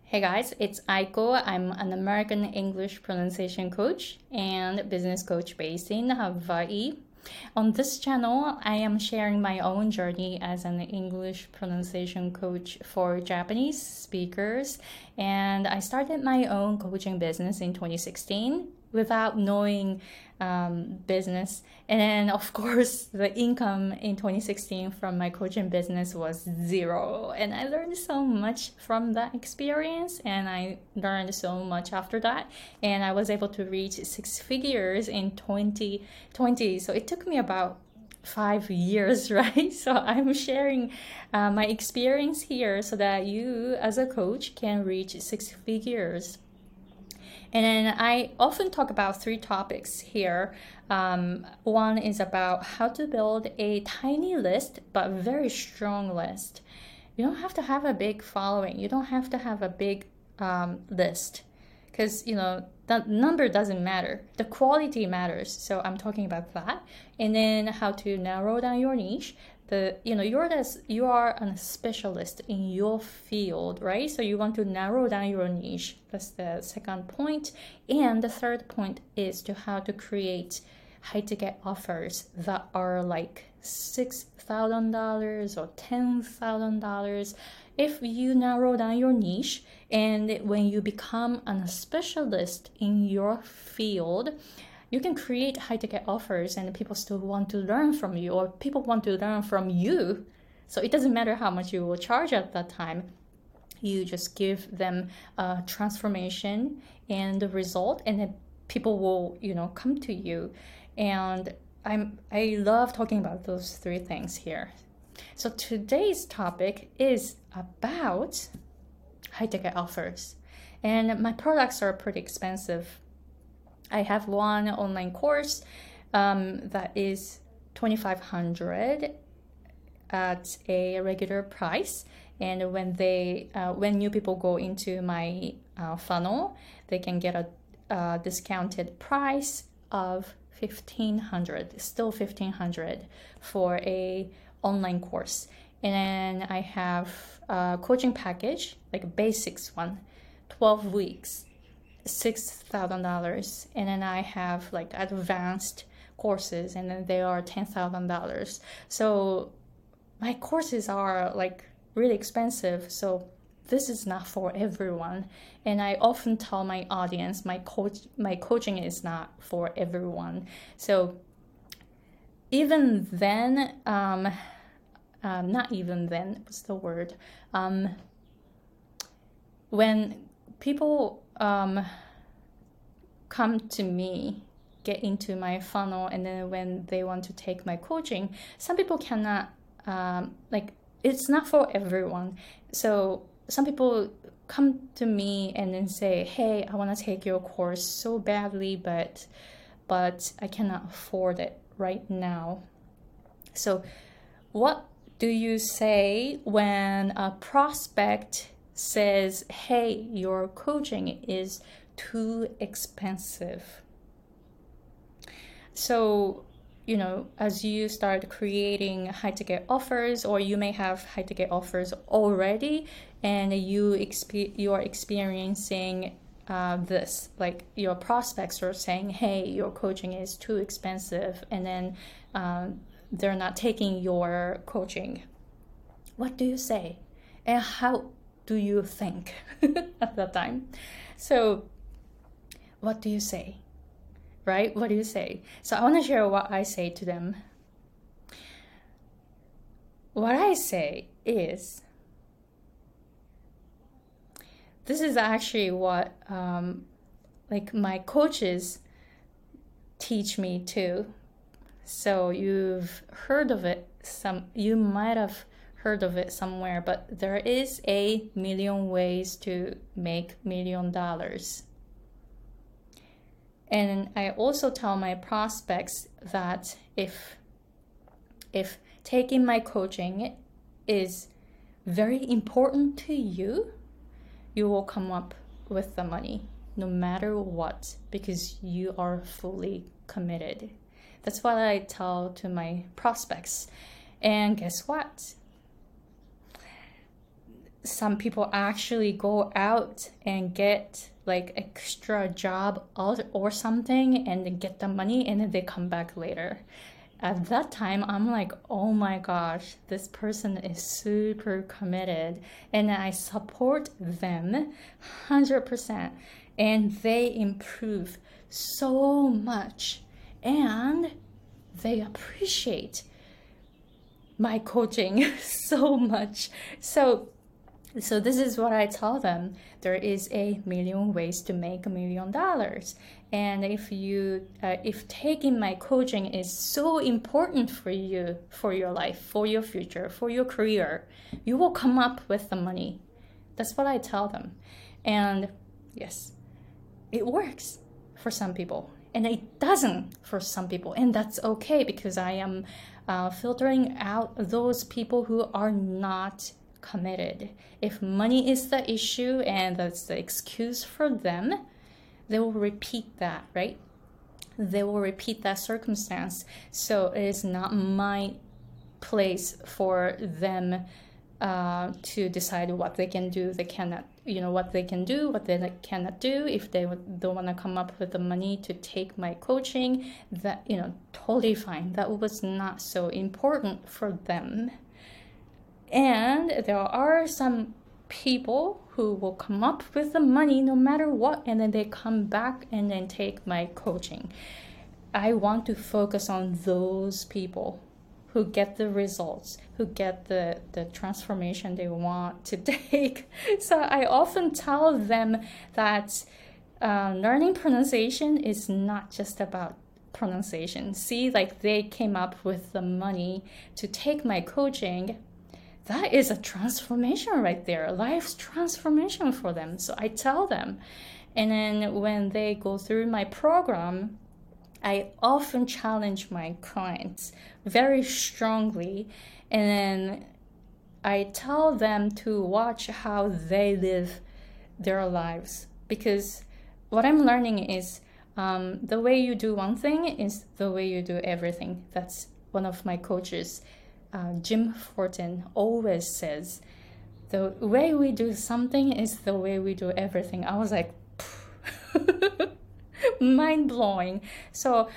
Hey guys, it's Aiko. I'm an American English pronunciation coach and business coach based in Hawaii. On this channel, I am sharing my own journey as an English pronunciation coach for Japanese speakers. And I started my own coaching business in 2016 without knowing business. And then, of course, the income in 2016 from my coaching business was zero. And I learned so much from that experience, and I learned so much after that. And I was able to reach six figures in 2020. So it took me about 5 years, right? So I'm sharing my experience here so that you, as a coach, can reach six figures. And then I often talk about three topics here. One is about how to build a tiny list, but very strong list. You don't have to have a big following. You don't have to have a big list because, the number doesn't matter. The quality matters. So I'm talking about that. And then how to narrow down your niche. You are a specialist in your field, right? So you want to narrow down your niche. That's the second point. And the third point is to how to create high ticket offers that are like $6,000 or $10,000. If you narrow down your niche and when you become a specialist in your field, you can create high ticket offers and people still want to learn from you, or people want to learn from you. So it doesn't matter how much you will charge at that time. You just give them a transformation and the result, and then people will, come to you. And I love talking about those three things here. So today's topic is about high ticket offers. And my products are pretty expensive. I have one online course that is $2,500 at a regular price. And when new people go into my funnel, they can get a discounted price of $1,500, still $1,500 for a online course. And then I have a coaching package, like a basics one, 12 weeks, $6,000. And then I have like advanced courses, and then they are $10,000. So my courses are like really expensive. So this is not for everyone. And I often tell my audience, my coaching is not for everyone. So even then, not even then, what's the word? When people come to me, get into my funnel, and then when they want to take my coaching, some people cannot, it's not for everyone. So some people come to me and then say, hey, I want to take your course so badly, but I cannot afford it right now. So what do you say when a prospect says, hey, your coaching is too expensive? So, as you start creating high ticket offers, or you may have high ticket offers already, and you are experiencing this, like your prospects are saying, hey, your coaching is too expensive, and then they're not taking your coaching. What do you say? And how do you think at that time? So what do you say? Right? What do you say? So I want to share what I say to them. What I say is, this is actually what my coaches teach me too. So you've heard of it, you might have heard of it somewhere, but there is a million ways to make $1 million. And I also tell my prospects that if taking my coaching is very important to you, you will come up with the money no matter what, because you are fully committed. That's what I tell to my prospects. And guess what? some people actually go out and get like extra job or something and then get the money and then they come back later. At that time, I'm like, oh my gosh, this person is super committed and I support them 100% and they improve so much and they appreciate my coaching so much. So this is what I tell them. There is a million ways to make $1 million. And if taking my coaching is so important for you, for your life, for your future, for your career, you will come up with the money. That's what I tell them. And yes, it works for some people. And it doesn't for some people. And that's okay because I am filtering out those people who are not committed. If money is the issue and that's the excuse for them, they will repeat that, right? They will repeat that circumstance. So it is not my place for them to decide what they can do, they cannot, what they can do, what they cannot do. If they don't want to come up with the money to take my coaching, that, totally fine. That was not so important for them. And there are some people who will come up with the money no matter what, and then they come back and then take my coaching. I want to focus on those people who get the results, who get the transformation they want to take. So I often tell them that learning pronunciation is not just about pronunciation. See, like they came up with the money to take my coaching. That is a transformation right there, life's transformation for them. So I tell them. And then when they go through my program, I often challenge my clients very strongly. And then I tell them to watch how they live their lives. Because what I'm learning is the way you do one thing is the way you do everything. That's one of my coaches. Jim Fortin always says, the way we do something is the way we do everything. I was like, mind blowing. So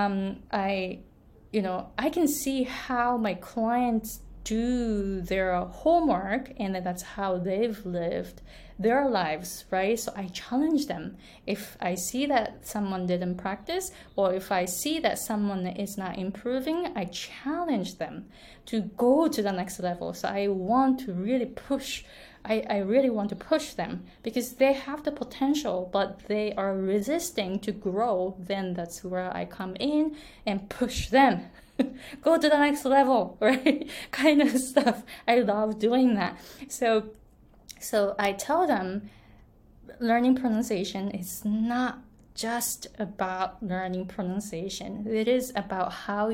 I can see how my clients do their homework, and that's how they've lived their lives, right? So I challenge them. If I see that someone didn't practice, or if I see that someone is not improving, I challenge them to go to the next level. So I want to really push. I really want to push them because they have the potential, but they are resisting to grow. Then that's where I come in and push them. Go to the next level, right? Kind of stuff. I love doing that. So I tell them learning pronunciation is not just about learning pronunciation. It is about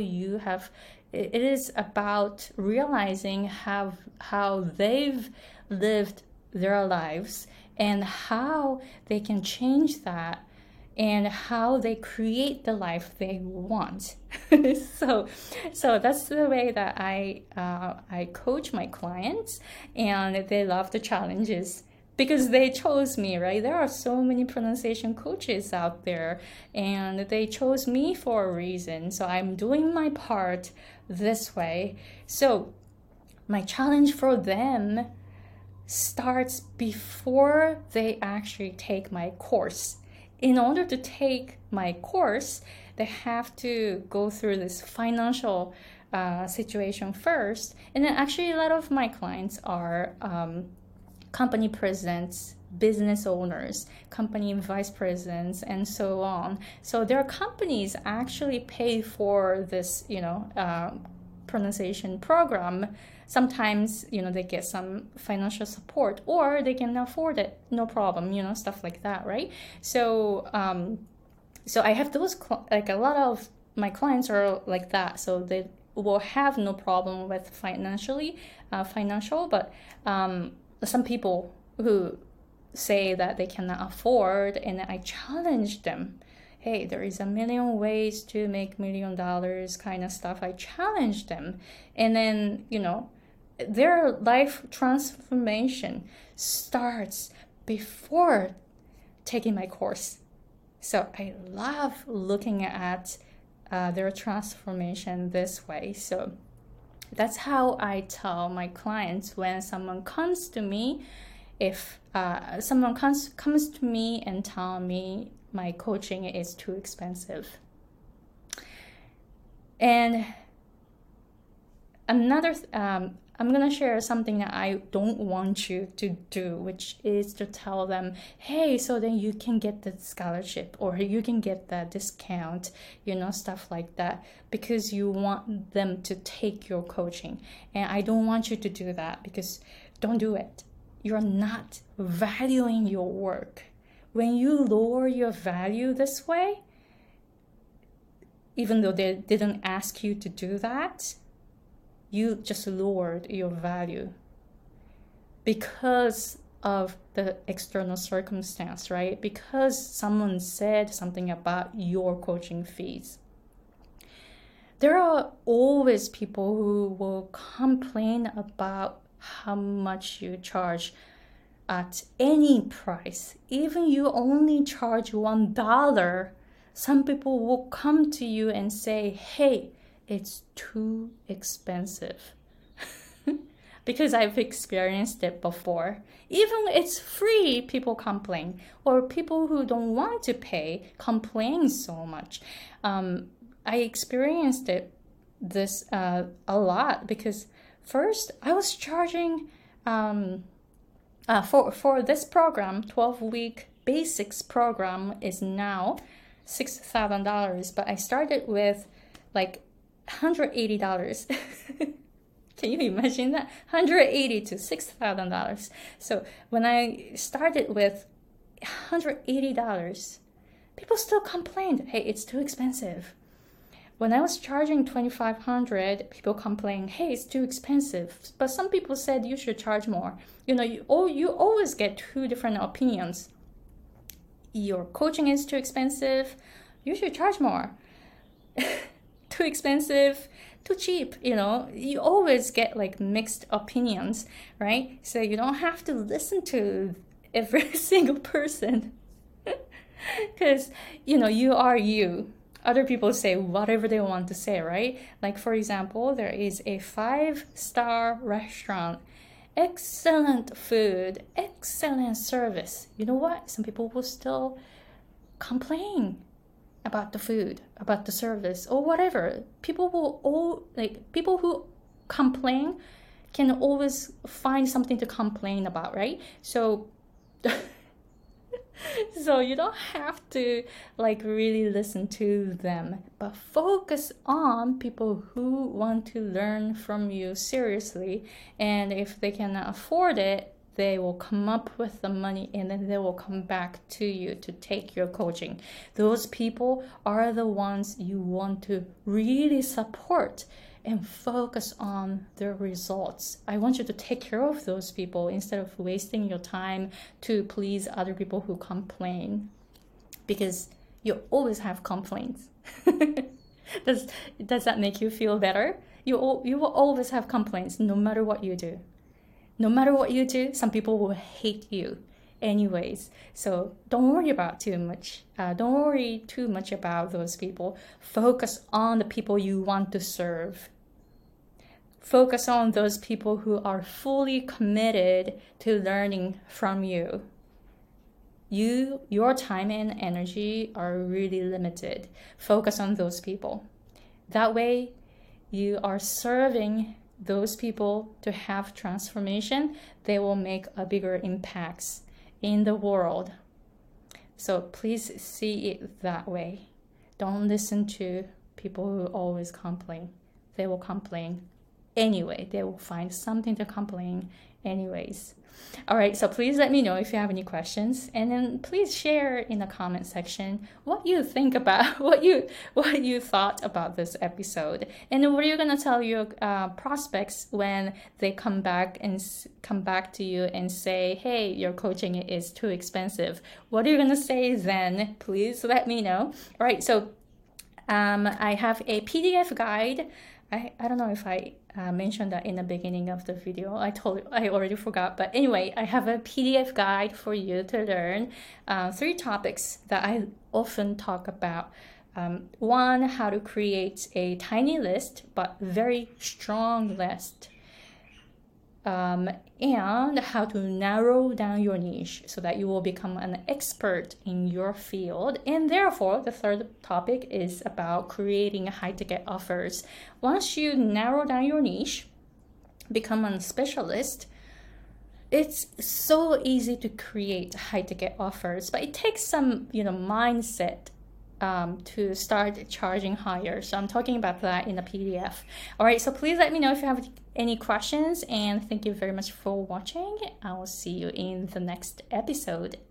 it is about realizing how they've lived their lives and how they can change that and how they create the life they want. So that's the way that I coach my clients, and they love the challenges because they chose me, right? There are so many pronunciation coaches out there, and they chose me for a reason. So I'm doing my part this way. So my challenge for them starts before they actually take my course. In order to take my course, they have to go through this financial situation first. And then actually a lot of my clients are company presidents, business owners, company vice presidents, and so on. So their companies actually pay for this, pronunciation program. Sometimes, they get some financial support, or they can afford it, no problem, stuff like that, right? So, so I have those, like a lot of my clients are like that. So they will have no problem with financial, but some people who say that they cannot afford, and I challenge them. Hey, there is a million ways to make $1 million kind of stuff. I challenge them. And then, their life transformation starts before taking my course. So I love looking at their transformation this way. So that's how I tell my clients when someone comes to me. If someone comes to me and tell me my coaching is too expensive. And another, I'm going to share something that I don't want you to do, which is to tell them, hey, so then you can get the scholarship or you can get the discount, stuff like that, because you want them to take your coaching. And I don't want you to do that, because don't do it. You're not valuing your work. When you lower your value this way, even though they didn't ask you to do that, you just lowered your value because of the external circumstance, right? Because someone said something about your coaching fees. There are always people who will complain about how much you charge at any price. Even you only charge $1, some people will come to you and say, hey, it's too expensive. Because I've experienced it before. Even it's free, people complain. Or people who don't want to pay complain so much. I experienced this a lot, because first I was charging for this program, 12-week basics program is now $6,000, but I started with like $180. Can you imagine that? $180 to $6,000. So when I started with $180, people still complained, hey, it's too expensive. When I was charging $2,500, people complained, hey, it's too expensive. But some people said you should charge more. You always get two different opinions. Your coaching is too expensive, you should charge more. Too expensive, too cheap, you always get like mixed opinions, right? So you don't have to listen to every single person, because you are you. Other people say whatever they want to say, right? Like, for example, there is a 5-star restaurant, excellent food, excellent service. You know what? Some people will still complain about the food, about the service, or whatever. People who complain can always find something to complain about, right? So you don't have to really listen to them, but focus on people who want to learn from you seriously. And if they can afford it, they will come up with the money, and then they will come back to you to take your coaching. Those people are the ones you want to really support and focus on their results. I want you to take care of those people instead of wasting your time to please other people who complain, because you always have complaints. Does that make you feel better? You will always have complaints no matter what you do. No matter what you do, some people will hate you anyways. So don't worry about too much. Don't worry too much about those people. Focus on the people you want to serve. Focus on those people who are fully committed to learning from you. Your time and energy are really limited. Focus on those people. That way, you are serving those people to have transformation. They will make a bigger impacts in the world. So please see it that way. Don't listen to people who always complain. They will complain anyway. They will find something to complain anyways. All right, so please let me know if you have any questions, and then please share in the comment section what you think about what you thought about this episode, and what are you gonna tell your prospects when they come back to you and say, hey, your coaching is too expensive. What are you gonna say then? Please let me know. All right, so I have a PDF guide I don't know if I mentioned that in the beginning of the video. I already forgot. But anyway, I have a PDF guide for you to learn 3 topics that I often talk about. One, how to create a tiny list, but very strong list. And how to narrow down your niche so that you will become an expert in your field. And therefore, the third topic is about creating high-ticket offers. Once you narrow down your niche, become a specialist, it's so easy to create high-ticket offers, but it takes some, mindset to start charging higher. So I'm talking about that in the PDF. All right, so please let me know if you have any questions, and thank you very much for watching. I will see you in the next episode.